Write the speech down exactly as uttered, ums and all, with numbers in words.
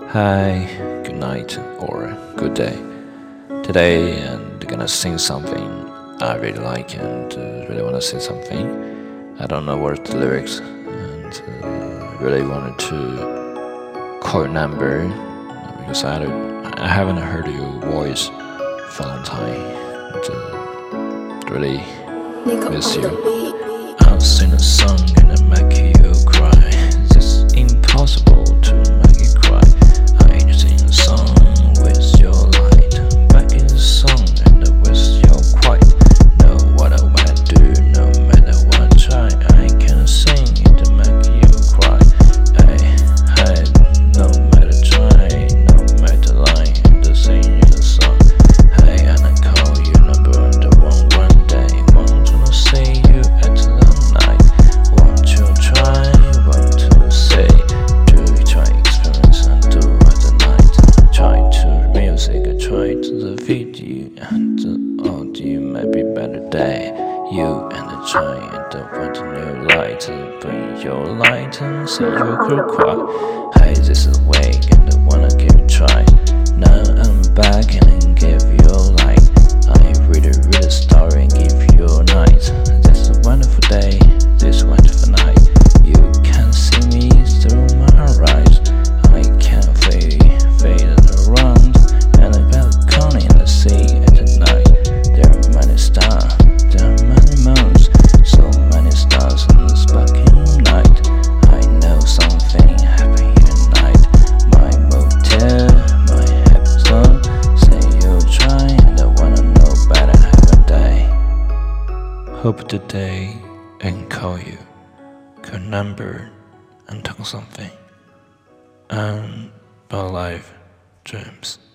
Hi, good night or good day. Today I'm gonna sing something I really like and uh, really wanna say something. I don't know what's the lyrics and uh, really wanted to call your number because I, I haven't heard your voice for a long time. And, uh, really miss you. I'll sing a song and I make you cry. It's impossible to make it cry. I just sing a song with your light. Back in the song and with your quiet. Know what I wanna do, no matter what I try. I can sing it to make you cry. Hey, hey, no matter try, no matter lie, and to sing you the song. Hey, and I call you number the one one day. Want to see you at the night. Want to try, want to say. Do you try experience and do at the night? Try to music, try to the video and the audio might be better day. You and I try and want a new light. Bring your light and say you could cry. Hey, this is way and I wanna give it a try. Now I'm back and give you a light. I read a read a story and give you a night. This is a wonderful day, this is a wonderful night. You can see me through my eyes. I can fade, fade around. And I balcony in the sea at night. There are many stars, there are many moons, so many stars in the sparkling night. I know something happened here tonight. My motel, my happy zone. Say you try and I wanna know better have a day. Hope today I can call you, call number and talk something. And about life dreams.